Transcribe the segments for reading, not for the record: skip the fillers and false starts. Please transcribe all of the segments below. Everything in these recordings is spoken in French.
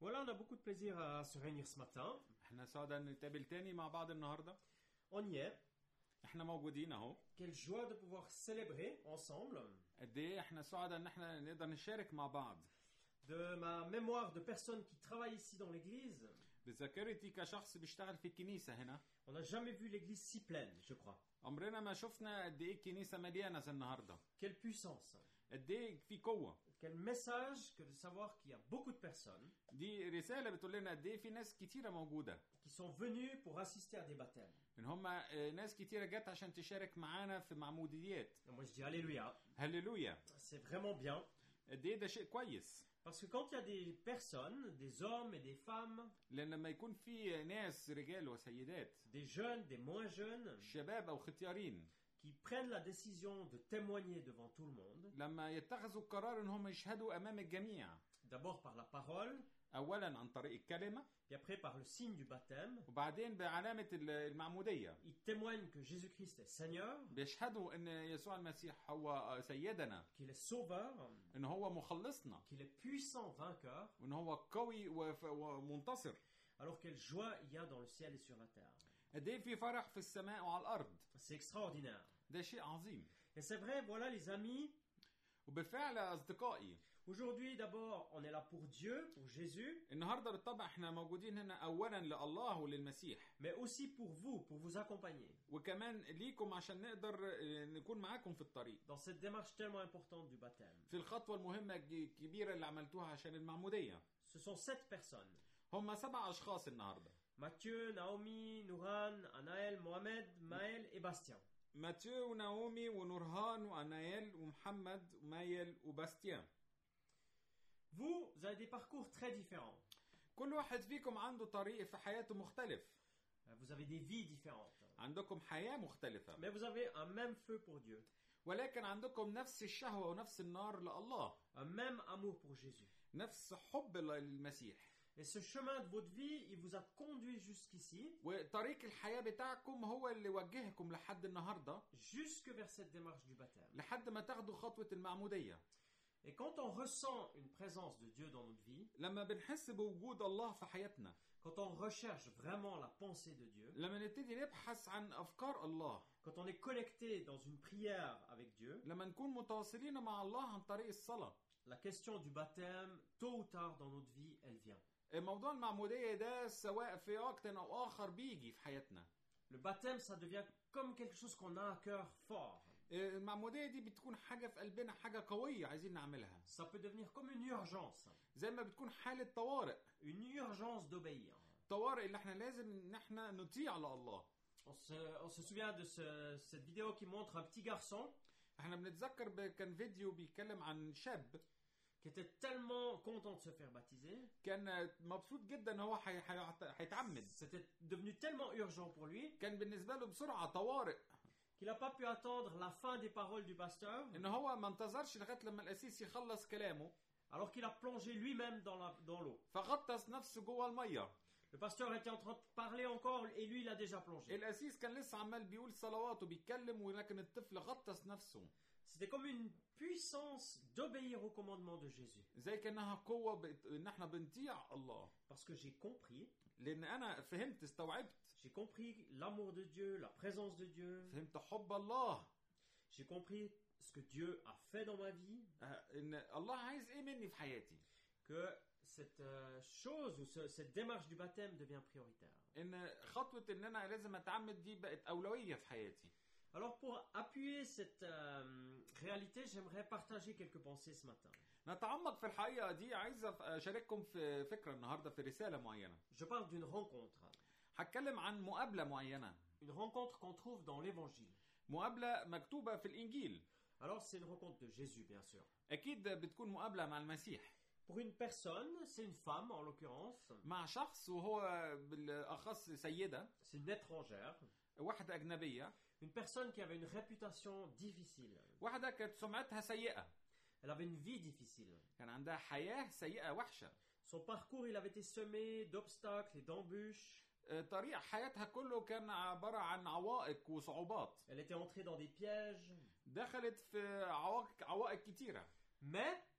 Voilà, on a beaucoup de plaisir à se réunir ce matin. احنا سعداء نتقابل تاني مع بعض النهارده. On y est. احنا موجودين اهو. Quelle joie de pouvoir célébrer ensemble. قد ايه احنا سعداء ان احنا نقدر نشارك مع بعض. De ma mémoire de personnes qui travaillent ici dans l'église, بذاكرتي كشخص بيشتغل في الكنيسه هنا. on n'a jamais vu l'église si pleine, je crois. عمرنا ما شفنا قد ايه الكنيسه مليانه زي النهارده. Quelle puissance. قد ايه في قوه. Quel message que de savoir qu'il y a beaucoup de personnes دي رساله بتقول لنا قد ايه في ناس كتيره موجوده. qui sont venues pour assister à des baptêmes. ان هم ناس كتيره جت عشان تشارك معانا في معموديات. Et moi je dis alléluia. هللويا. C'est vraiment bien. قد ايه ده شيء كويس. Parce que quand il y a des personnes, des hommes et des femmes, لان لما يكون في ناس رجال وسيدات des jeunes, des moins jeunes, شباب او ختيارين qui prennent la décision de témoigner devant tout le monde, لما يتخذوا القرار ان هم يشهدوا امام الجميع d'abord par la parole, اولا عن طريق الكلمه puis après par le signe du baptême, وبعدين بعلامه المعموديه ils témoignent que Jésus-Christ est Seigneur, بيشهدوا ان يسوع المسيح هو سيدنا qu'il est Sauveur, ان هو مخلصنا qu'il est puissant vainqueur. وان هو قوي ومنتصر. Alors quelle joie il y a dans le ciel et sur la terre. قد ايه في فرح في السماء وعلى الارض. C'est extraordinaire. ده شيء عظيم. Et c'est vrai, voilà les amis. وبالفعل اصدقائي Aujourd'hui d'abord on est là pour Dieu, pour Jésus, النهارده بالطبع احنا موجودين هنا اولا لله وللمسيح mais aussi pour vous, pour vous accompagner وكمان ليكم عشان نقدر نكون معاكم في الطريق dans cette démarche tellement importante du baptême. في الخطوه المهمه الكبيره اللي عملتوها عشان المعموديه. Ce sont 7 personnes. هم 7 اشخاص النهارده. Mathieu, Naomi, Nouran, Anaël, Mohamed, Maël et Bastien. ماتيو وناومي ونورهان وانايل ومحمد ومايل وباستيان. Vous avez des parcours très différents. كل واحد فيكم عنده طريق في حياته مختلف. Vous avez des vies différentes. عندكم حياة مختلفة. Mais vous avez un même feu pour Dieu. ولكن عندكم نفس الشهوة ونفس النار لله. Un même amour pour Jésus. نفس حب للمسيح. Et ce chemin de votre vie, il vous a conduit jusqu'ici. وطريق الحياة بتاعكم هو اللي وجهكم لحد النهاردة. Jusque vers cette démarche du baptême. لحد ما تاخدوا خطوة المعمودية. Et quand on ressent une présence de Dieu dans notre vie, لما بنحس بوجود الله في حياتنا. quand on recherche vraiment la pensée de Dieu, لما نبتدي نبحث عن أفكار الله. quand on est connecté dans une prière avec Dieu, لما نكون متواصلين مع الله عن طريق الصلاة. la question du baptême, tôt ou tard dans notre vie, elle vient. موضوع المعمودية ده سواء في وقت أو آخر بيجي في حياتنا. Le baptême, ça devient comme quelque chose qu'on a à cœur fort. المعمودية دي بتكون حاجة في قلبنا، حاجة قوية عايزين نعملها. Ça peut devenir comme une urgence. زي ما بتكون حالة طوارئ. Une urgence d'obéir. طوارئ اللي احنا لازم ان احنا نطيع لله. On se souvient de cette vidéo qui montre un petit garçon. احنا بنتذكر كان فيديو بيتكلم عن شاب. Qui était tellement content de se faire baptiser. كان مبسوط جدا ان هو هيتعمد. C'était devenu tellement urgent pour lui. كان بالنسبة له بسرعة طوارئ. Qu'il n'a pas pu attendre la fin des paroles du pasteur. ان هو ما انتظرش لغاية لما القسيس يخلص كلامه. Alors qu'il a plongé lui-même dans l'eau. فغطس نفسه جوه المية. Le pasteur était en train de parler encore et lui il a déjà plongé. القسيس كان لسه عمال بيقول صلوات وبيتكلم ولكن الطفل غطس نفسه. C'était comme une puissance d'obéir au commandement de Jésus. زي كأنها قوة ان احنا بنطيع الله. Parce que j'ai compris. لأن أنا فهمت استوعبت. J'ai compris l'amour de Dieu, la présence de Dieu. فهمت حب الله. J'ai compris ce que Dieu a fait dans ma vie. إن الله عايز إيه مني في حياتي. Que cette chose ou cette démarche du baptême devient prioritaire. إن خطوة إن أنا لازم أتعمد دي بقت أولوية في حياتي. Alors pour appuyer cette réalité, j'aimerais partager quelques pensées ce matin. نتعمق في الحقيقة دي، عايز أشارككم في فكرة النهاردة في رسالة معينة. Je parle d'une rencontre. هتكلم عن مقابلة معينة. Une rencontre qu'on trouve dans l'Évangile. مقابلة مكتوبة في الإنجيل. Alors c'est une rencontre de Jésus bien sûr. أكيد بتكون مقابلة مع المسيح. Pour une personne, c'est une femme en l'occurrence. مع شخص وهو بالأخص سيدة. C'est une étrangère. واحدة أجنبية. Une personne qui avait une réputation difficile. واحدة كانت سمعتها سيئة. Elle avait une vie difficile. كان عندها حياة سيئة وحشة. Son parcours, il avait été semé d'obstacles et d'embûches. طريق حياتها كله كان عبارة عن عوائق وصعوبات. Elle était entrée dans des pièges. دخلت في عوائق كتيرة. Mais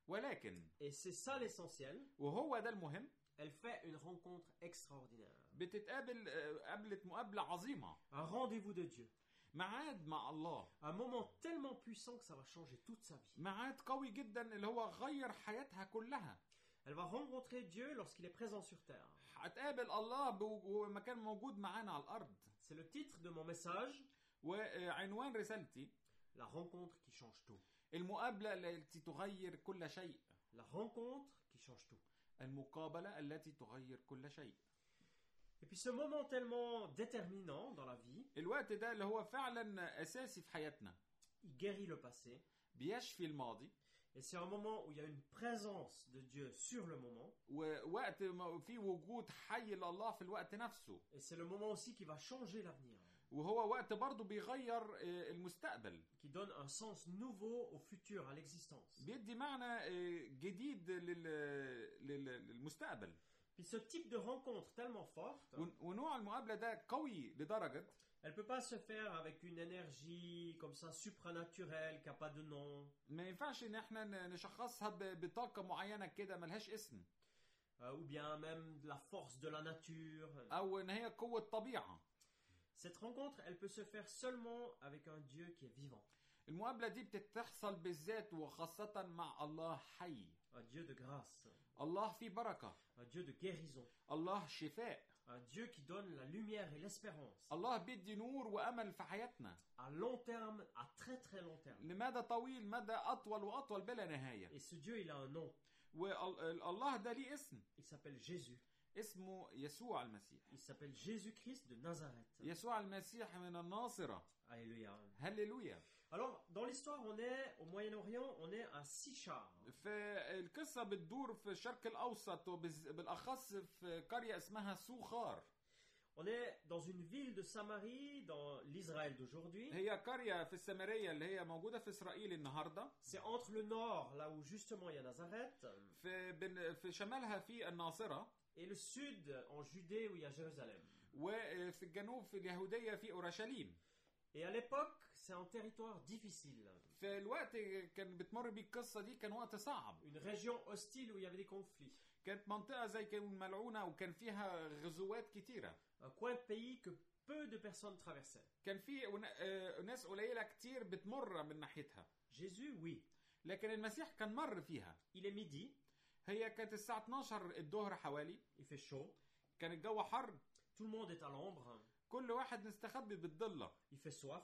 ولكن et c'est ça l'essentiel, وهو ده المهم، elle fait une rencontre extraordinaire. بتتقابل قابلت مقابلة عظيمة، Un rendez-vous de Dieu. ميعاد مع الله، Un moment tellement puissant que ça va changer toute sa vie. ميعاد قوي جدا اللي هو غير حياتها كلها. Elle va rencontrer Dieu lorsqu'il est présent sur terre. هتقابل الله ومكان موجود معانا على الأرض. C'est le titre de mon message. وعنوان رسالتي La rencontre qui change tout. المقابلة التي تغير كل شيء. La rencontre qui change tout. المقابلة التي تغير كل شيء. Et puis ce moment tellement déterminant dans la vie, الوقت ده اللي هو فعلا أساسي في حياتنا. il guérit le passé. بيشفي الماضي. Et c'est un moment où il y a une présence de Dieu sur le moment. ووقت في وجود حي لله في الوقت نفسه. Et c'est le moment aussi qui va changer l'avenir. وهو وقت برضه بيغير المستقبل. Qui donne un sens nouveau au futur, à l'existence. بيدي معنى جديد للمستقبل. Puis ce type de rencontre tellement forte, ونوع المقابلة ده قوي لدرجة elle ne peut pas se faire avec une énergie comme ça supranaturelle qui n'a pas de nom. ما ينفعش ان احنا نشخصها بطاقة معينة كده ملهاش اسم. Ou bien même la force de la nature. او ان هي قوة طبيعة. Cette rencontre, elle peut se faire seulement avec un Dieu qui est vivant. المقابلة دي بتحصل بالذات وخاصة مع الله حي. Un Dieu de grâce. الله في بركة. Un Dieu de guérison. الله شفاء. Un Dieu qui donne la lumière et l'espérance. الله بيدي نور وأمل في حياتنا. À long terme, à très très long terme. لمدى طويل، مدى أطول وأطول بلا نهاية. Et ce Dieu, il a un nom. والله ده ليه اسم. Il s'appelle Jésus. اسمه يسوع المسيح. Il s'appelle Jésus-Christ de Nazareth. يسوع المسيح من الناصرة. Alléluia. هللويا. Alors, dans l'histoire, on est au Moyen-Orient, on est à Sichar. فالقصة بتدور في الشرق الأوسط وبالأخص في قرية اسمها سوخار. On est dans une ville de Samarie, dans l'Israël d'aujourd'hui. هي قرية في السامرية اللي هي موجودة في إسرائيل النهاردة. C'est entre le nord, là où justement il y a Nazareth. في شمالها في الناصرة. Et le sud, en Judée, où il y a Jérusalem. وفي الجنوب في اليهودية في أورشليم. Et à l'époque, c'est un territoire difficile. في الوقت كان بتمر بيه القصة دي كان وقت صعب. Une région hostile où il y avait des conflits. كانت منطقة زي كان ملعونة وكان فيها غزوات كتيرة. Un coin de pays que peu de personnes traversaient. كان في ناس قليلة كتير بتمر من ناحيتها. Jésus, oui. لكن المسيح كان مر فيها. Il est midi. هي كانت الساعة 12 الظهر حوالي. Il fait chaud. كان الجو حر. Tout le monde est à l'ombre. كل واحد مستخبي بالضلة. Il fait soif.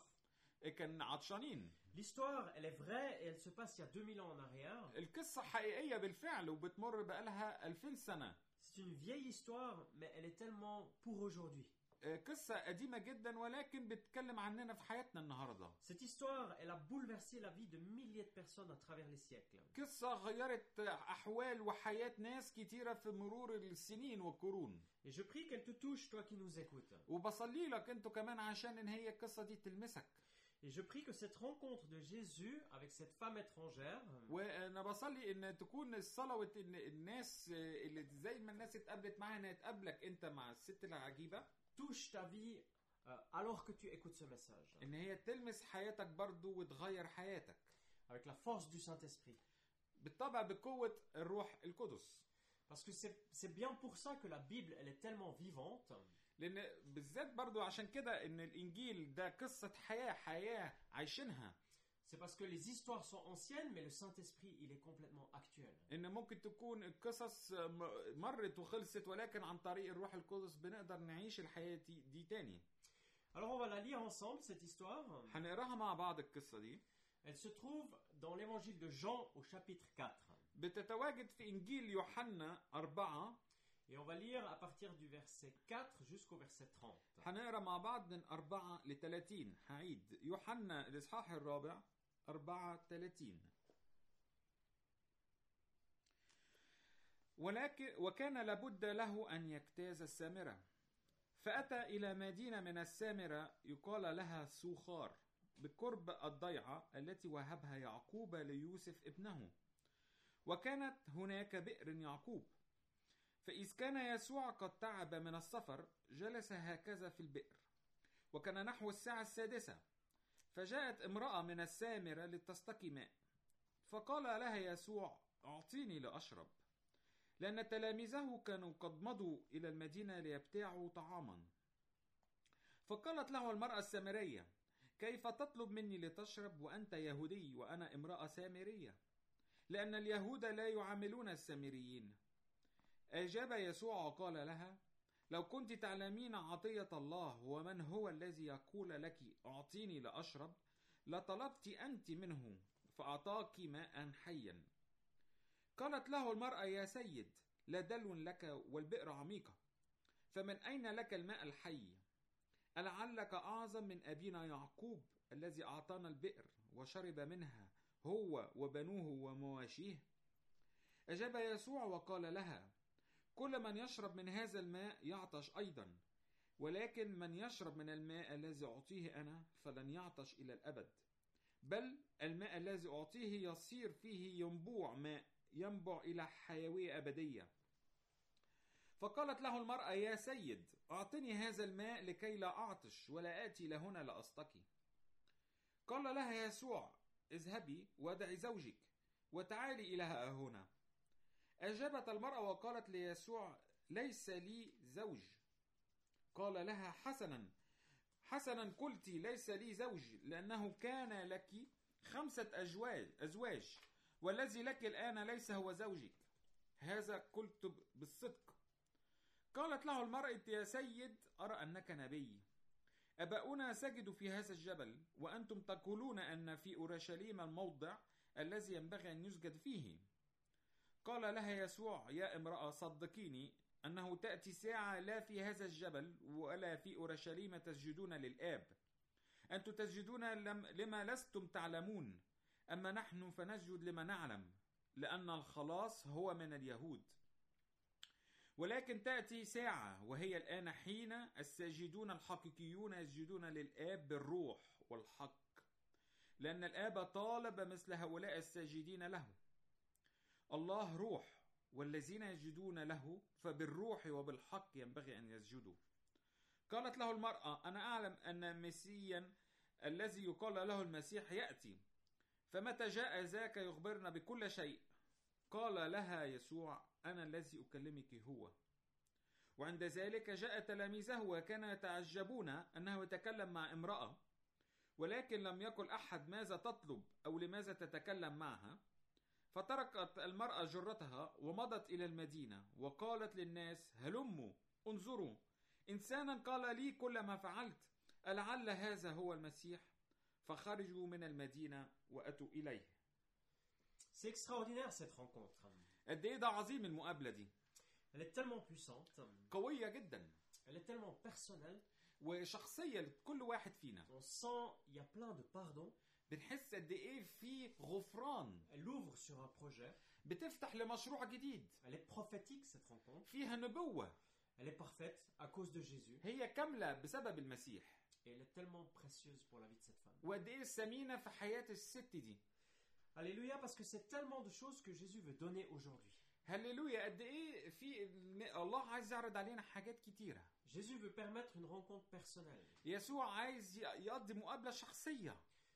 كان عطشانين. L'histoire, elle est vraie et elle se passe il y a 2000 ans en arrière. القصة حقيقية بالفعل وبتمر بقالها 2000 سنة. C'est une vieille histoire, mais elle est tellement pour aujourd'hui. قصة قديمة جدا ولكن بتتكلم عننا في حياتنا النهاردة. Cette histoire, elle a bouleversé la vie de milliers de personnes à travers les siècles. قصة غيرت أحوال وحياة ناس كتيرة في مرور السنين والقرون. Et je prie qu'elle te touche, toi qui nous écoutes. وبصلي لك انتوا كمان عشان ان هي القصة دي تلمسك. Et je prie que cette rencontre de Jésus avec cette femme étrangère, وانا بصلي ان تكون الصلوة ان الناس اللي زي ما الناس اتقابلت معاها انها تقابلك انت مع الست العجيبة. touche ta vie alors que tu écoutes ce message. ان هي تلمس حياتك برضو وتغير حياتك. Avec la force du Saint-Esprit. بالطبع بقوة الروح القدس. Parce que c'est bien pour ça que la Bible, elle est tellement vivante. لان بالذات برضو عشان كده ان الانجيل ده قصة حياة عايشينها. C'est parce que les histoires sont anciennes, mais le Saint-Esprit, il est complètement actuel. إن ممكن تكون القصص مرت وخلصت ولكن عن طريق الروح القدس بنقدر نعيش الحياة دي تاني. Alors on va la lire ensemble cette histoire. هنقراها مع بعض القصة دي. Elle se trouve dans l'évangile de Jean au chapitre 4. بتتواجد في إنجيل يوحنا 4. Et on va lire à partir du verset 4 jusqu'au verset 30. هنقرا مع بعض من 4 ل 30. هعيد يوحنا الإصحاح 4 34. وكان لابد له أن يجتاز السامرة، فأتى إلى مدينة من السامرة يقال لها سوخار بقرب الضيعة التي وهبها يعقوب ليوسف ابنه، وكانت هناك بئر يعقوب. فإذ كان يسوع قد تعب من السفر جلس هكذا في البئر، وكان نحو الساعة 6، فجاءت امرأة من السامرة لتستقي ماء، فقال لها يسوع: أعطيني لأشرب، لأن تلاميذه كانوا قد مضوا إلى المدينة ليبتاعوا طعاما. فقالت له المرأة السامرية: كيف تطلب مني لتشرب وأنت يهودي وأنا امرأة سامرية؟ لأن اليهود لا يعاملون السامريين. أجاب يسوع وقال لها: لو كنت تعلمين عطية الله ومن هو الذي يقول لك أعطيني لأشرب، لطلبت أنت منه فأعطاك ماء حيا. قالت له المرأة: يا سيد، لا دلو لك والبئر عميقة، فمن أين لك الماء الحي؟ ألعلك أعظم من أبينا يعقوب الذي أعطانا البئر وشرب منها هو وبنوه ومواشيه؟ أجاب يسوع وقال لها: كل من يشرب من هذا الماء يعطش أيضا، ولكن من يشرب من الماء الذي أعطيه أنا فلن يعطش إلى الأبد، بل الماء الذي أعطيه يصير فيه ينبوع ماء ينبع إلى حيوية أبدية. فقالت له المرأة: يا سيد، أعطني هذا الماء لكي لا أعطش ولا آتي لهنا لأستقي. قال لها يسوع: اذهبي ودعي زوجك وتعالي إلى هنا. أجابت المرأة وقالت ليسوع: ليس لي زوج. قال لها: حسنا قلت، ليس لي زوج، لأنه كان لك 5 أزواج، والذي لك الآن ليس هو زوجك، هذا قلت بالصدق. قالت له المرأة: يا سيد، أرى أنك نبي. أباؤنا سجدوا في هذا الجبل، وأنتم تقولون أن في أورشليم الموضع الذي ينبغي أن يسجد فيه. قال لها يسوع: يا امرأة، صدقيني أنه تأتي ساعة لا في هذا الجبل ولا في أورشليم تسجدون للآب. أنتم تسجدون لما لستم تعلمون، أما نحن فنسجد لما نعلم، لأن الخلاص هو من اليهود. ولكن تأتي ساعة وهي الآن حين الساجدون الحقيقيون يسجدون للآب بالروح والحق، لأن الآب طالب مثل هؤلاء الساجدين له. الله روح، والذين يسجدون له فبالروح وبالحق ينبغي أن يسجدوا. قالت له المرأة: أنا أعلم أن مسيا الذي يقال له المسيح يأتي، فمتى جاء ذاك يخبرنا بكل شيء. قال لها يسوع: أنا الذي أكلمك هو. وعند ذلك جاء تلاميذه وكانوا يتعجبون أنه يتكلم مع امرأة، ولكن لم يقل أحد ماذا تطلب أو لماذا تتكلم معها. فتركت المرأة جرتها ومضت إلى المدينة وقالت للناس: هلموا انظروا، إنسانا قال لي كل ما فعلت، ألعل هذا هو المسيح؟ فخرجوا من المدينة وأتوا إليه. C'est extraordinaire cette rencontre. قد إيه ده عظيم المقابلة دي. Elle est tellement puissante. قوية جدا. Elle est tellement personnelle. وشخصية لكل واحد فينا. On sent il y a plein de pardon. بنحس قد إيه في غفران. Elle ouvre sur un projet. بتفتح لمشروع جديد. Elle est prophétique cette rencontre. فيها نبوة. Elle est parfaite à cause de Jésus. هي كاملة بسبب المسيح. Et elle est tellement précieuse pour la vie de cette femme. وقد إيه ثمينة في حياة الست دي. Alléluia, parce que c'est tellement de choses que Jésus veut donner aujourd'hui. هللويا. قد ايه في الله عايز يعرض علينا حاجات كتيره. Jésus veut permettre une rencontre personnelle. يسوع عايز يقضي مقابله شخصيه.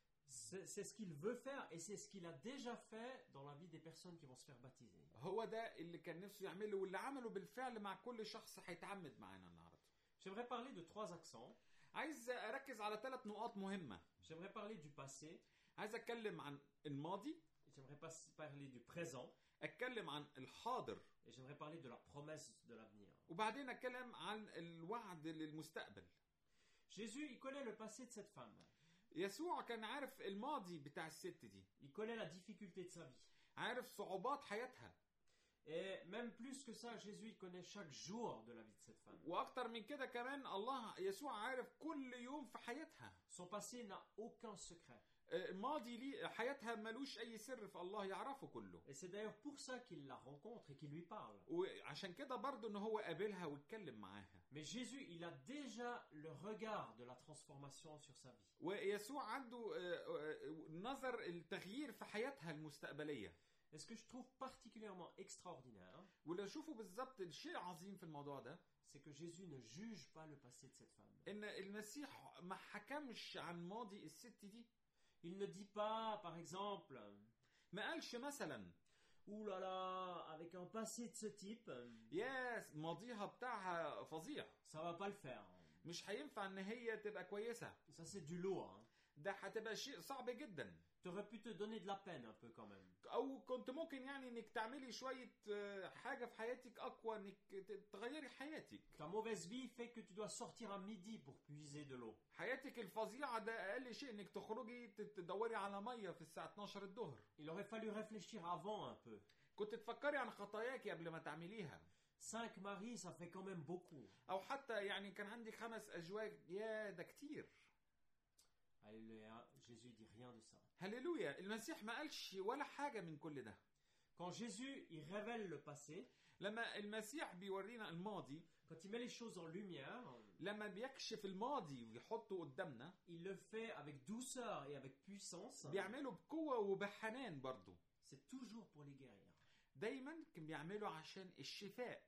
C'est ce qu'il veut faire et c'est ce qu'il a déjà fait dans la vie des personnes qui vont se faire baptiser. هو ده اللي كان نفسه يعمله واللي عمله بالفعل مع كل شخص هيتعمد معانا النهارده. J'aimerais parler de 3 accents. عايز اركز على 3 نقاط مهمه. J'aimerais parler du passé. عايز اتكلم عن الماضي. J'aimerais parler du présent. اتكلم عن الحاضر. Et j'aimerais parler de la promesse de l'avenir. وبعدين اتكلم عن الوعد للمستقبل. Jésus, il connaît le passé de cette femme. يسوع كان عارف الماضي بتاع الست دي. Il connaît la difficulté de sa vie. عارف صعوبات حياتها. Et même plus que ça, Jésus il connaît chaque jour de la vie de cette femme. واكتر من كده كمان الله يسوع عارف كل يوم في حياتها. Son passé n'a aucun secret. ماضي ليه حياتها ملوش اي سر في الله يعرفه كله. Et c'est d'ailleurs pour ça qu'il la rencontre et qu'il lui parle. وعشان كده برضه ان هو قابلها واتكلم معاها. Mais Jésus, il a déjà le regard de la transformation sur sa vie. ويسوع عنده نظر التغيير في حياتها المستقبلية. Et ce que je trouve particulièrement extraordinaire, واللي اشوفه بالظبط الشيء عظيم في الموضوع ده، c'est que Jésus ne juge pas le passé de cette femme. ان المسيح ما حكمش عن ماضي الست دي. Il ne dit pas, par exemple, ما قالش مثلا ouh là là, avec un passé de ce type, يا ماضيها بتاعها فظيع، ça va pas le faire. مش هينفع ان هي تبقى كويسة، Ça c'est du lourd. Hein. ده هتبقى شيء صعب جدا. T'aurais pu te donner de la peine un peu quand même. او كنت ممكن يعني انك تعملي شوية حاجة في حياتك اقوى، انك تغيري حياتك. Ta mauvaise vie fait que tu dois sortir à midi pour puiser de l'eau. حياتك الفظيعة ده اقل شيء انك تخرجي تدوري على مية في الساعة 12 الظهر. Il aurait fallu réfléchir avant un peu. كنت تفكري عن خطاياك قبل ما تعمليها. 5 maris, ça fait quand même beaucoup. او حتى يعني كان عندك 5 ازواج، يا ده كتير. Alléluia, Jésus dit rien de ça. هللويا، المسيح ما قالش ولا حاجة من كل ده. Quand Jésus, il révèle le passé, لما المسيح بيورينا الماضي، quand il met les choses en lumière, لما بيكشف الماضي ويحطه قدامنا، il le fait avec douceur et avec puissance. بيعمله بقوة وبحنان برضو. C'est toujours pour les guérir. دايما كان بيعمله عشان الشفاء.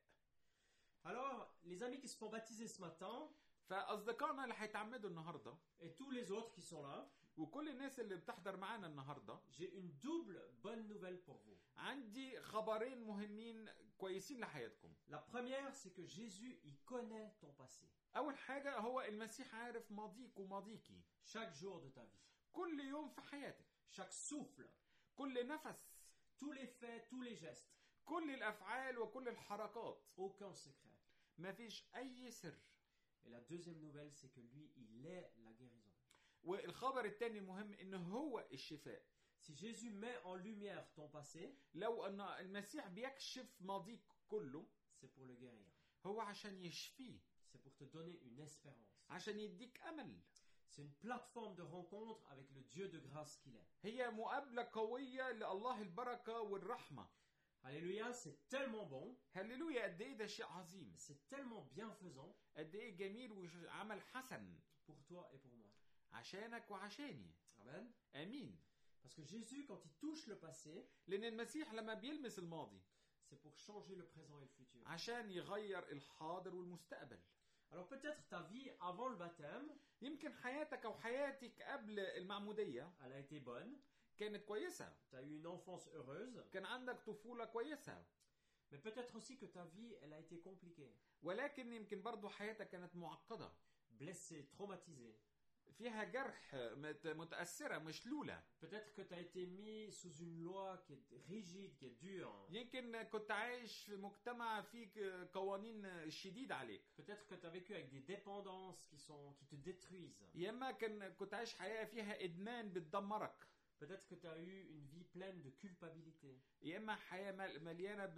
Alors, les amis qui se font baptiser ce matin, فأصدقائنا اللي هيتعمدوا النهاردة et tous les autres qui sont là, وكل الناس اللي بتحضر معانا النهاردة، j'ai une double bonne nouvelle pour vous. عندي خبرين مهمين كويسين لحياتكم. La première, c'est que Jésus, il connaît ton passé. أول حاجة هو المسيح عارف ماضيك وماضيكي. Chaque jour de ta vie. كل يوم في حياتك. Chaque souffle. كل نفس. Tous les faits, tous les gestes. كل الأفعال وكل الحركات. Aucun secret. ما فيش أي سر. Et la deuxième nouvelle, c'est que lui, il est la guérison. والخبر الثاني المهم إنه هو الشفاء. Si Jésus met en lumière ton passé, لو أن المسيح بيكشف ماضيك كله، c'est pour le guérir. هو عشان يشفيه. C'est pour te donner une espérance. عشان يديك أمل. C'est une plateforme de rencontre avec le Dieu de grâce qu'il est. هي مقابلة قوية لله البركة والرحمة. Alléluia, c'est tellement bon. هللويا، قد ايه ده شيء عظيم. C'est tellement bienfaisant. قد ايه جميل وعمل حسن. Pour toi et pour moi. عشانك وعشاني. Amen. امين. Parce que Jésus, quand il touche le passé, لأن المسيح لما بيلمس الماضي، c'est pour changer le présent et le futur. عشان يغير الحاضر والمستقبل. Alors peut-être ta vie avant le baptême, يمكن حياتك أو حياتك قبل المعمودية elle a été bonne. كانت كويسة. Tu as eu une enfance heureuse. كان عندك طفولة كويسة. Mais peut-être aussi que ta vie, elle a été compliquée. ولكن يمكن برضو حياتك كانت معقدة. Blessée, traumatisée. فيها جرح، متأثرة، مشلولة. Peut-être que tu as été mis sous une loi qui est rigide, qui est dure. يمكن كنت عايش في مجتمع فيه قوانين شديدة عليك. Peut-être que tu as vécu avec des dépendances qui te détruisent. يا إما كنت عايش حياة فيها إدمان بتدمرك. Peut-être que tu as eu une vie pleine de culpabilité. يا إما حياة مليانة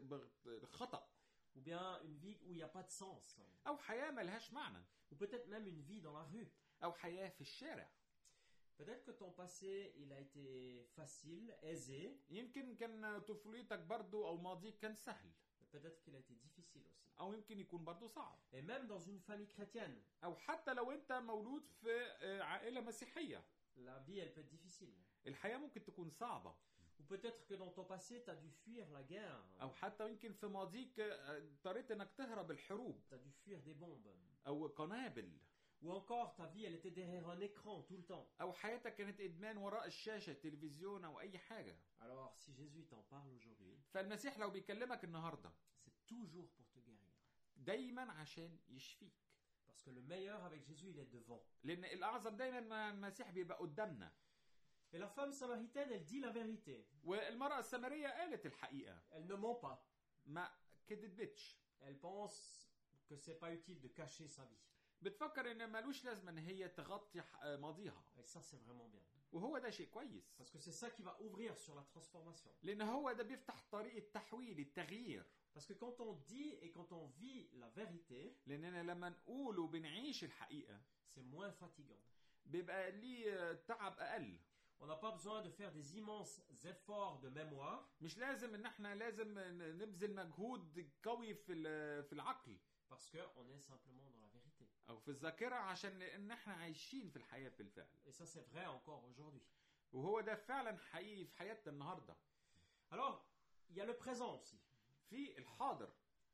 بخطأ. Ou bien une vie où il n'y a pas de sens. أو حياة ملهاش معنى. Ou peut-être même une vie dans la rue. أو حياة في الشارع. Peut-être que ton passé, il a été facile, aisé. يمكن كان طفولتك برضو أو ماضيك كان سهل. Peut-être qu'il a été difficile aussi. أو يمكن يكون برضو صعب. Et même dans une famille chrétienne. أو حتى لو أنت مولود في عائلة مسيحية. La vie, elle peut être difficile. الحياة ممكن تكون صعبة. Ou peut-être que dans ton passé, tu as dû fuir la guerre. أو حتى يمكن في ماضيك اضطريت إنك تهرب الحروب. Tu as dû fuir des bombes. أو قنابل. Ou encore, ta vie, elle était derrière un écran tout le temps. أو حياتك كانت إدمان وراء الشاشة، تلفزيون أو أي حاجة. Alors, si Jésus t'en parle aujourd'hui, فالمسيح لو بيكلمك النهاردة، c'est toujours pour te guérir. دايما عشان يشفيك. Parce que le meilleur avec Jésus, il est devant. لأن الأعظم دايما مع المسيح بيبقى قدامنا. Et la femme samaritaine, elle dit la vérité. والمرأة السامرية قالت الحقيقة. Elle ne ment pas. ما كدبتش. Elle pense que c'est pas utile de cacher sa vie. بتفكر ان مالوش لازمه ان هي تغطي ماضيها. Et ça, c'est vraiment bien. وهو ده شيء كويس. Parce que c'est ça qui va ouvrir sur la transformation. لان هو ده بيفتح طريق التحويل، التغيير. Parce que quand on dit et quand on vit la vérité, لاننا لما نقول وبنعيش الحقيقه، c'est moins fatigant. بيبقى ليه تعب اقل. On n'a pas besoin de faire des immenses efforts de mémoire. مش لازم ان احنا لازم نبذل مجهود قوي في العقل. Parce qu'on est simplement dans la vérité. أو في الذاكرة، عشان إن إحنا عايشين في الحياة بالفعل. Et ça, c'est vrai encore aujourd'hui. وهو ده فعلا حقيقي في حياتنا النهاردة. Alors, il y a le présent aussi. في الحاضر.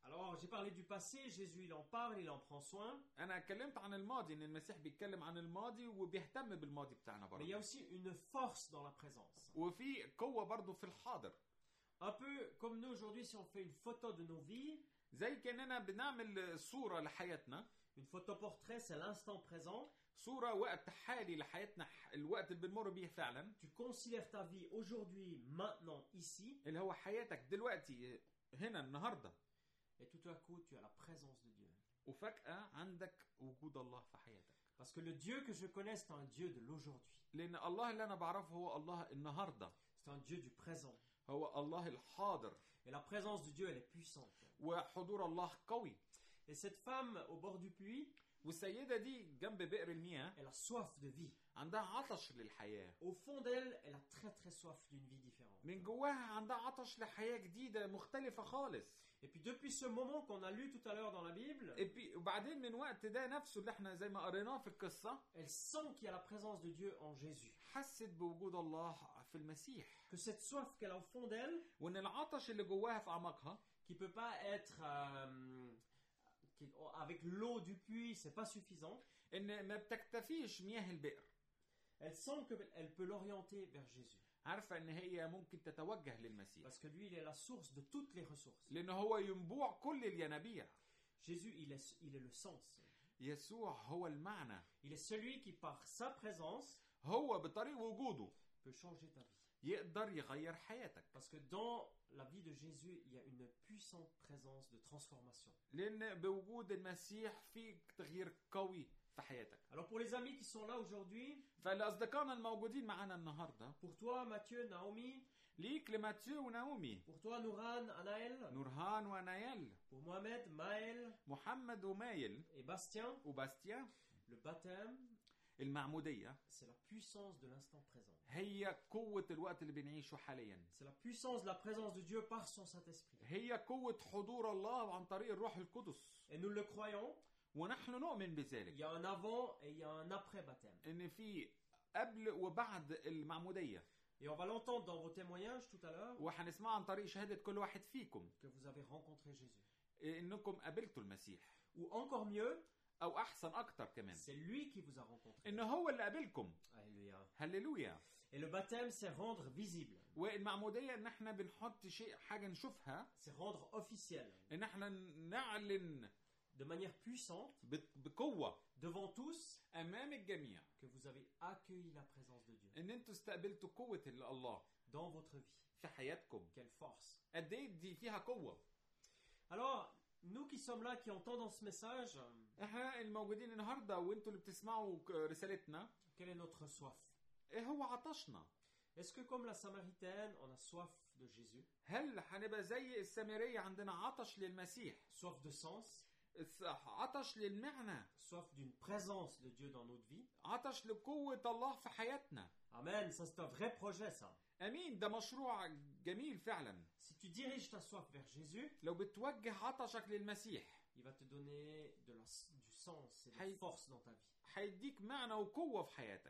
Alors, j'ai parlé du passé, Jésus il en parle, il en prend soin. انا اتكلمت عن الماضي، ان المسيح بيتكلم عن الماضي وبيهتم بالماضي بتاعنا Mais il y a برضه. aussi une force dans la présence. وفي قوة برضه في الحاضر. Un peu comme nous aujourd'hui, si on fait une photo de nos vies, زي كأننا بنعمل صورة لحياتنا، une photo portrait, c'est l'instant présent. صورة وقت حالي لحياتنا، الوقت اللي بنمر بيه فعلا، Tu considères ta vie aujourd'hui, maintenant, ici, اللي هو حياتك دلوقتي هنا النهاردة. et tout à coup, tu as la présence de Dieu. وفجأة عندك وجود الله في حياتك. Parce que le Dieu que je connais, c'est un Dieu de l'aujourd'hui. لأن الله اللي أنا بعرفه هو الله النهاردة، C'est un Dieu du présent. هو الله الحاضر، Et la présence de Dieu, elle est puissante. وحضور الله قوي. Et cette femme au bord du puits, والسيدة دي جنب بئر المياه elle a soif de vie. عندها عطش للحياة. Au fond d'elle, elle a très très soif d'une vie différente. من جواها عندها عطش لحياة جديدة مختلفة خالص. Et puis depuis ce moment qu'on a lu tout à l'heure dans la Bible, وبعدين من وقت ده نفسه اللي احنا زي ما قريناه في القصة، elle sent qu'il y a la présence de Dieu en Jésus. حست بوجود الله في المسيح. Que cette soif qu'elle a au fond d'elle, وان العطش اللي جواها في اعماقها، qui peut pas être avec l'eau du puits, c'est pas suffisant. ان ما بتكتفيش مياه البئر. Elle sent qu'elle peut l'orienter vers Jésus. عارفة ان هي ممكن تتوجه للمسيح. Parce que lui, il est la source de toutes les ressources. لان هو ينبوع كل الينابيع. Jésus, il est le sens. يسوع هو المعنى. Il est celui qui, par sa présence, هو بطريق وجوده peut changer ta vie. يقدر يغير حياتك. Parce que dans la vie de Jésus, il y a une puissante présence de transformation. لان بوجود المسيح في تغيير قوي في حياتك. Alors pour les amis qui sont là aujourd'hui, فالاصدقائنا الموجودين معانا النهارده، pour toi Mathieu, Naomi, ليك لماتيو وناومي، pour toi Nouran, Anaël, نورهان ونايل، pour Mohamed, Maël محمد ومايل et Bastien, وباستيان، le baptême, المعمودية c'est la puissance de l'instant présent. هي قوة الوقت اللي بنعيشه حاليا. C'est la puissance de la présence de Dieu par son Saint-Esprit. هي قوة حضور الله عن طريق الروح القدس. Et nous le croyons, ونحن نؤمن il بذلك. y a un avant et il y a un après baptême. ان في قبل وبعد المعمودية. Et on va l'entendre dans vos témoignages tout à l'heure, وهنسمع عن طريق شهادة كل واحد فيكم que vous avez rencontré Jésus. انكم قابلتوا المسيح. Ou encore mieux, او احسن اكتر كمان، c'est lui qui vous a rencontré. ان هو اللي قابلكم. Alléluia. هللويا. Et le baptême, c'est rendre visible. والمعمودية ان احنا بنحط شيء، حاجة نشوفها، C'est rendre officiel. ان احنا نعلن De manière puissante, بقوة devant tous, امام الجميع que vous avez accueilli la présence de Dieu ان انتوا استقبلتوا قوة الله dans votre vie. في حياتكم. Quelle force. قد ايه دي فيها قوة. Alors, nous qui sommes là, qui entendons ce message, احنا الموجودين النهارده وانتوا اللي بتسمعوا رسالتنا، quelle est notre soif? ايه هو عطشنا؟ Est-ce que comme la Samaritaine, on a soif de Jésus? هل هنبقى زي السامرية عندنا عطش للمسيح، Soif de sens? عطش للمعنى، Soif d'une présence de Dieu dans notre vie? عطش لقوة الله في حياتنا؟ Amen, ça c'est un vrai projet ça. امين، ده مشروع جميل فعلا. Si tu diriges ta soif vers Jésus, لو بتوجه عطشك للمسيح il va te donner du sens et de la Hey. force dans ta vie. هيديك معنى وقوة في حياتك.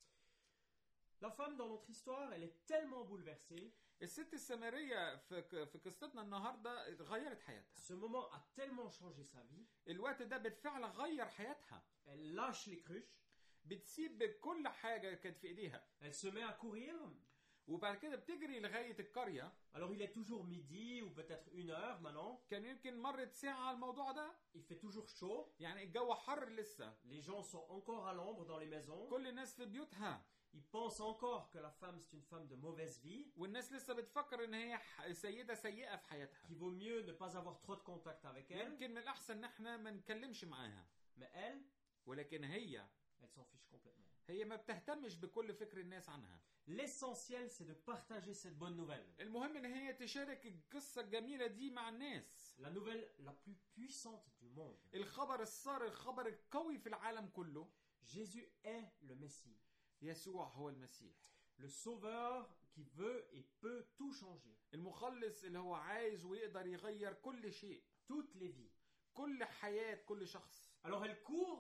La femme dans notre histoire, elle est tellement bouleversée. الست السامرية في قصتنا النهارده غيرت حياتها. Ce moment a tellement changé sa vie. الوقت ده بالفعل غير حياتها. Elle lâche les cruches. بتسيب كل حاجة كانت في ايديها. Elle se met à courir. وبعد كده بتجري لغاية القرية. Alors il est toujours midi ou peut-être 1 heure maintenant. كان يمكن مرت ساعة على الموضوع ده. Il fait toujours chaud. يعني الجو حر لسه. Les gens sont encore à l'ombre dans les maisons. كل الناس في بيوتها. Ils pensent encore que la femme c'est une femme de mauvaise vie. والناس لسه بتفكر ان هي سيدة سيئة في حياتها. Qu'il vaut mieux ne pas avoir trop de contact avec elle. يمكن من الأحسن ان احنا ما نتكلمش معاها. Mais elle, ولكن elle s'en fiche complètement. هي ما بتهتمش بكل فكر الناس عنها. L'essentiel c'est de partager cette bonne nouvelle. المهم ان هي تشارك القصة الجميلة دي مع الناس. La nouvelle la plus puissante du monde. الخبر السار، الخبر القوي في العالم كله. Jésus est le Messie. يسوع هو المسيح. Le sauveur qui veut et peut tout changer. المخلص اللي هو عايز ويقدر يغير كل شيء. Toutes les vies. كل حياة كل شخص. Alors elle court.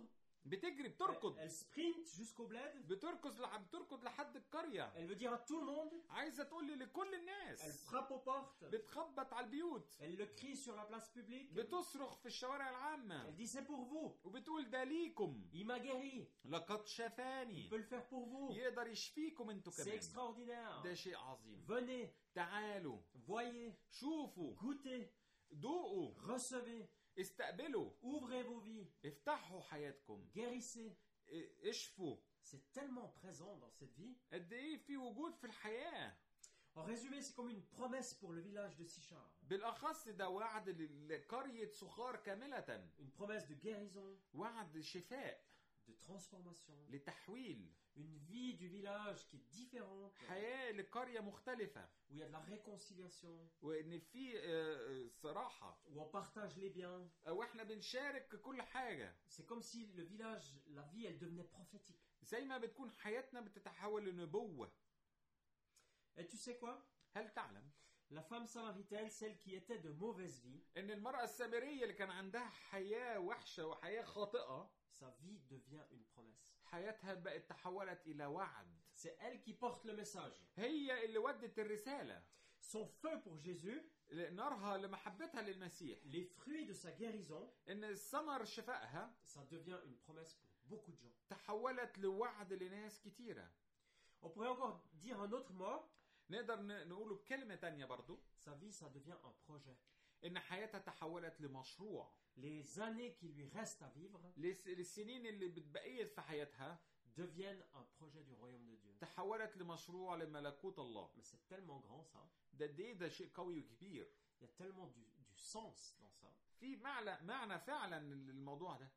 بتجري بتركض Elle sprint jusqu'au bled. بتركض لحد القرية. Elle veut dire à tout le monde. عايزة تقول لي لكل Elle الناس. frappe aux portes. بتخبط على البيوت. Elle le crie sur la place publique. بتصرخ في الشوارع العامة. Elle dit c'est pour vous. وبتقول ده ليكم. Il m'a guéri. لقد Il شفاني. peut le faire pour vous. يقدر يشفيكم انتوا C'est كمان. extraordinaire. ده شيء عظيم. Venez, تعالوا voyez, شوفوا goûtez, ذوقوا recevez, استقبلوا ouvrez vos vies, افتحوا حياتكم guérissez. اشفوا. C'est tellement présent dans cette vie. قد ايه في وجود في الحياة. En résumé, c'est comme une promesse pour le village de Sichar. بالأخص ده وعد لقرية سخار كاملة. Une promesse de guérison, وعد شفاء. de transformation. لتحويل. Une vie du village qui est différente. حياة لقرية مختلفة. Où il y a de la réconciliation. وإن في صراحة. Où on partage les biens. واحنا بنشارك كل حاجة. C'est comme si le village, la vie, elle devenait prophétique. زي ما بتكون حياتنا بتتحول لنبوة. Et tu sais quoi? هل تعلم؟ La femme samaritaine, celle qui était de mauvaise vie, إن المرأة السامرية اللي كان عندها حياة وحشة وحياة خاطئة. sa vie devient une promesse. حياتها بقت تحولت إلى وعد. C'est elle qui porte le message. هي اللي ودت الرسالة. Son feu pour Jésus, نارها لمحبتها للمسيح. les fruits de sa guérison, إن الثمر شفائها. ça devient une promesse pour beaucoup de gens. تحولت لوعد لناس كتيرة. On pourrait encore dire un autre mot. نقدر نقوله بكلمة تانية برضو. Sa vie, ça devient un projet. إن حياتها تحولت لمشروع. Les années qui lui restent à vivre السنين اللي بتبقيت في حياتها deviennent un projet du royaume de Dieu. تحولت لمشروع لملكوت الله. Mais c'est tellement grand ça. ده شيء قوي وكبير. Il y a tellement du sens dans ça. في معنى فعلا الموضوع ده.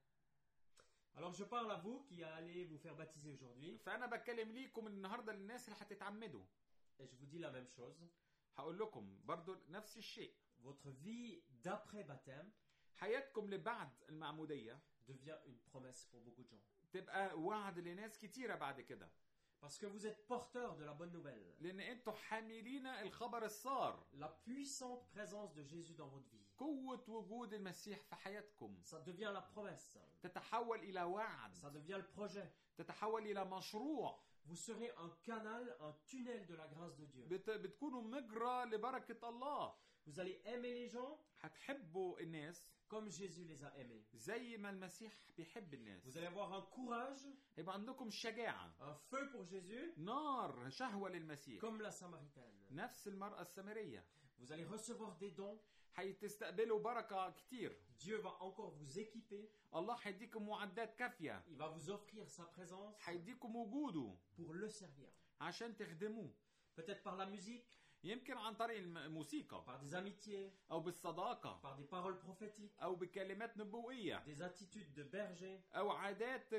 Alors je parle à vous qui allez vous faire baptiser aujourd'hui. فأنا بتكلم ليكم النهاردة للناس اللي هتتعمدوا. Et je vous dis la même chose. هقول لكم برضو نفس الشيء. Votre vie d'après baptême حياتكم لبعد المعمودية devient une promesse pour beaucoup de gens. تبقى وعد لناس كتيرة بعد كده. Parce que vous êtes porteur de la bonne nouvelle. لأن أنتوا حاملين الخبر السار. La puissante présence de Jésus dans votre vie. قوة وجود المسيح في حياتكم. Ça devient la promesse. تتحول إلى وعد. Ça devient le projet. تتحول إلى مشروع. Vous serez un canal, un tunnel de la grâce de Dieu. بتكونوا مجرى لبركة الله. Vous allez aimer les gens هتحبوا الناس comme Jésus les a aimés. زي ما المسيح بيحب الناس. Vous allez avoir un courage, يبقى عندكم شجاعة. un feu pour Jésus, نار شهوة للمسيح. comme la Samaritaine. نفس المرأة السامرية. Vous allez recevoir des dons. هتستقبلوا بركة كتير. Dieu va encore vous équiper. الله هيديكم معدات كافية. Il va vous offrir sa présence هيديكم وجوده pour le servir. عشان تخدموه. Peut-être par la musique, يمكن عن طريق الموسيقى par des amitiés, أو بالصداقة par des paroles prophétiques, أو بكلمات نبوية des attitudes de berger. أو عادات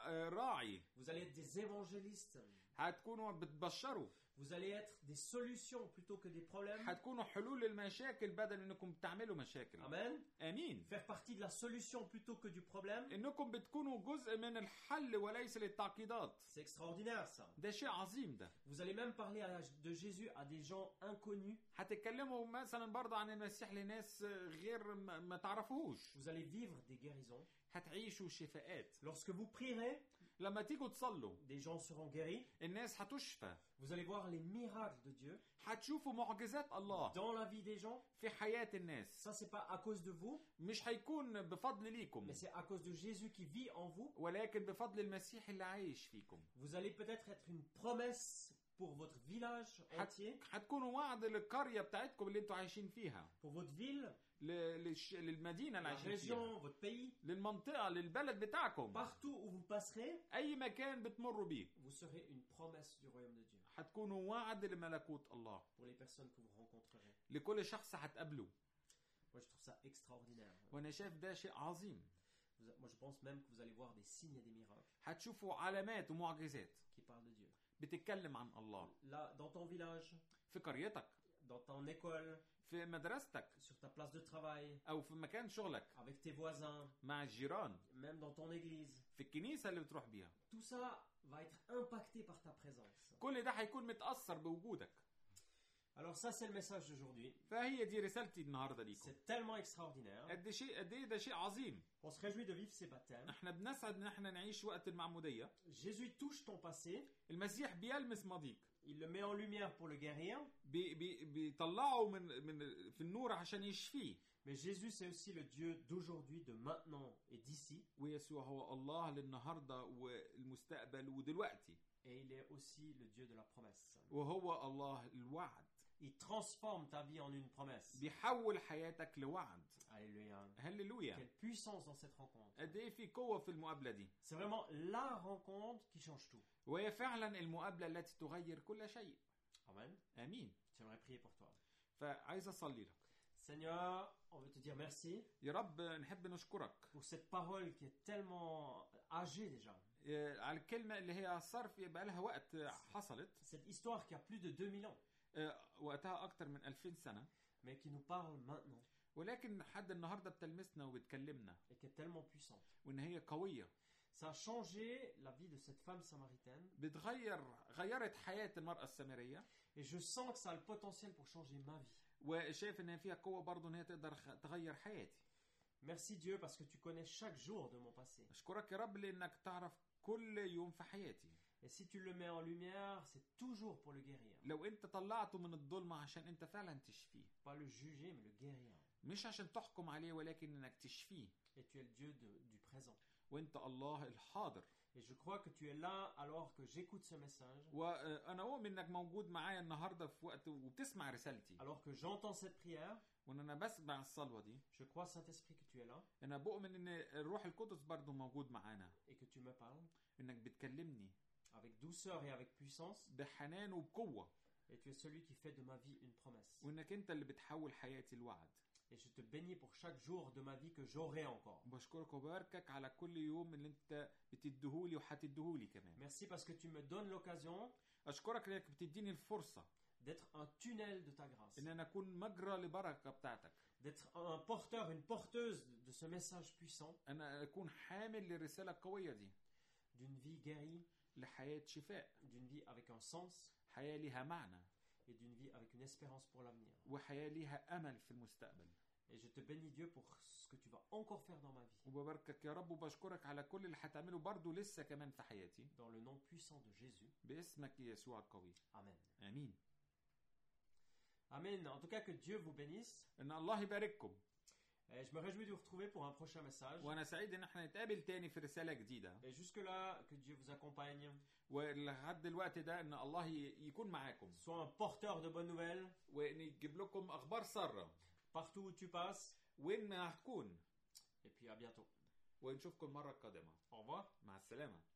كراعي. Vous allez être des évangélistes. هتكونوا بتبشروا. Vous allez être des solutions plutôt que des problèmes. هتكونوا حلول المشاكل بدل انكم بتعملوا مشاكل. Amen. امين. Faire partie de la solution plutôt que du problème. انكم بتكونوا جزء من الحل وليس للتعقيدات. C'est extraordinaire ça. ده شيء عظيم ده. Vous allez même parler de Jésus à des gens inconnus. هتتكلموا مثلا برضه عن المسيح لناس غير ما تعرفوهوش. Vous allez vivre des guérisons. هتعيشوا شفاءات. Lorsque vous prierez, لما تيجوا تصلوا des gens seront guéris. الناس هتشفى. Vous allez voir les miracles de Dieu هتشوفوا معجزات الله dans la vie des gens. في حياة الناس. Ça c'est pas à cause de vous, مش هيكون بفضل ليكم mais c'est à cause de Jésus qui vit en vous. ولكن بفضل المسيح اللي عايش فيكم. Vous allez peut-être être une promesse pour votre village entier, هتكونوا وعد للقرية بتاعتكم اللي انتوا عايشين فيها. pour votre ville, للمدينة اللي la عايشين région, فيها. votre pays. للمنطقة للبلد بتاعكم. Partout où vous passerez, أي مكان بتمروا بيه. vous serez une promesse du royaume de Dieu هتكونوا وعد لملكوت الله. pour les personnes que vous rencontrerez. لكل شخص هتقابله. Moi je trouve ça extraordinaire. وأنا شايف ده شيء عظيم. Moi je pense même que vous allez voir des signes et des miracles هتشوفوا علامات ومعجزات qui parlent de Dieu. بتتكلم عن الله. Là, dans ton village, في قريتك. dans ton école, في مدرستك. sur ta place de travail, أو في مكان شغلك. avec tes voisins, مع الجيران. même dans ton église. في الكنيسة اللي بتروح بيها. Tout ça va être impacté par ta présence. كل ده هيكون متأثر بوجودك. Alors ça, c'est le message d'aujourd'hui. فهي دي رسالتي النهارده ليكم. C'est tellement extraordinaire. قد ايه ده شيء عظيم. On se réjouit de vivre ces baptêmes. احنا بنسعد ان احنا نعيش وقت المعموديه. Jésus touche ton passé. المسيح بيلمس ماضيك. Il le met en lumière pour le guérir. بيطلعه من في النور عشان يشفيه. Mais Jésus, c'est aussi le Dieu d'aujourd'hui, de maintenant et d'ici. ويسوع هو الله للنهارده والمستقبل ودلوقتي. Et il est aussi le Dieu de la promesse. وهو الله الوعد. Il transforme ta vie en une promesse. بيحول حياتك لوعد. Alléluia. هللويا. Quelle puissance dans cette rencontre. قد ايه في قوه في المقابله دي. C'est vraiment la rencontre qui change tout. وهي فعلا المقابله التي تغير كل شيء. Amen. امين. J'aimerais prier pour toi. فعايز اصلي لك. Seigneur, on veut te dire merci. يا رب نحب نشكرك. Pour cette parole qui est tellement âgée déjà. على الكلمه اللي هي صرف يبقى لها وقت حصلت. Cette histoire qui a plus de 2000 ans. وقتها اكتر من 2000 سنه. Mais qui nous parle maintenant. ولكن لحد النهارده بتلمسنا وبتكلمنا. Et qui est tellement puissante. وان هي قويه. Ça a changé la vie de cette femme samaritaine. غيرت حياه المراه السامريه. Et je sens que ça a le potentiel pour changer ma vie. وشايف ان فيها قوه برضه ان هي تقدر تغير حياتي. Merci Dieu parce que tu connais chaque jour de mon passé. اشكرك يا رب لانك تعرف كل يوم في حياتي. Et si tu le mets en lumière, c'est toujours pour le guérir. لو انت طلعته من الظلمه عشان انت فعلا تشفيه. Pas le juger, mais le guérir. مش عشان تحكم عليه ولكن انك تشفيه. Et tu es le Dieu du présent. وانت الله الحاضر. Et je crois que tu es là alors que j'écoute ce message. وانا اؤمن انك موجود معايا النهارده في وقت وبتسمع رسالتي. Alors que j'entends cette prière. وان انا بسمع الصلوه دي. Je crois Saint-Esprit que tu es là. انا بؤمن ان الروح القدس برضه موجود معانا. Et que tu me parles. انك بتكلمني. Avec douceur et avec puissance. بحنان وبقوه. Et tu es celui qui fait de ma vie une promesse. وانك انت اللي بتحول حياتي لوعد. Et je te bénis pour chaque jour de ma vie que j'aurai encore. بشكرك وباركك على كل يوم اللي انت بتديهولي وهتديهولي كمان. Merci parce que tu me donnes l'occasion. اشكرك انك بتديني الفرصه. D'être un tunnel de ta grâce. ان انا اكون مجرى لبركه بتاعتك. D'être un porteur, une porteuse de ce message puissant. انا اكون حامل للرساله القويه دي. D'une vie guérie. لحياه شفاء. D'une vie avec un sens. حياه ليها معنى. Et d'une vie avec une espérance pour l'avenir. وحياه ليها امل في المستقبل. Et je te bénis Dieu pour ce que tu vas encore faire dans ma vie. وبباركك يا رب وبشكرك على كل اللي هتعمله برضه لسه كمان في حياتي. Dans le nom puissant de Jésus. باسمك يسوع القوي. Amen. امين. Amen. En tout cas que Dieu vous bénisse. ان الله يبارككم. Et je me réjouis de vous retrouver pour un prochain message. وانا سعيد ان احنا نتقابل تاني في رساله جديده. Et jusque là que Dieu vous accompagne. ولحد الوقت ده ان الله يكون معاكم. Sois un porteur de bonnes nouvelles. وان يجيب لكم اخبار ساره. Partout où tu passes. وين ما هتكون. Et puis à bientôt. ونشوفكم المره القادمه. Au revoir. مع السلامه.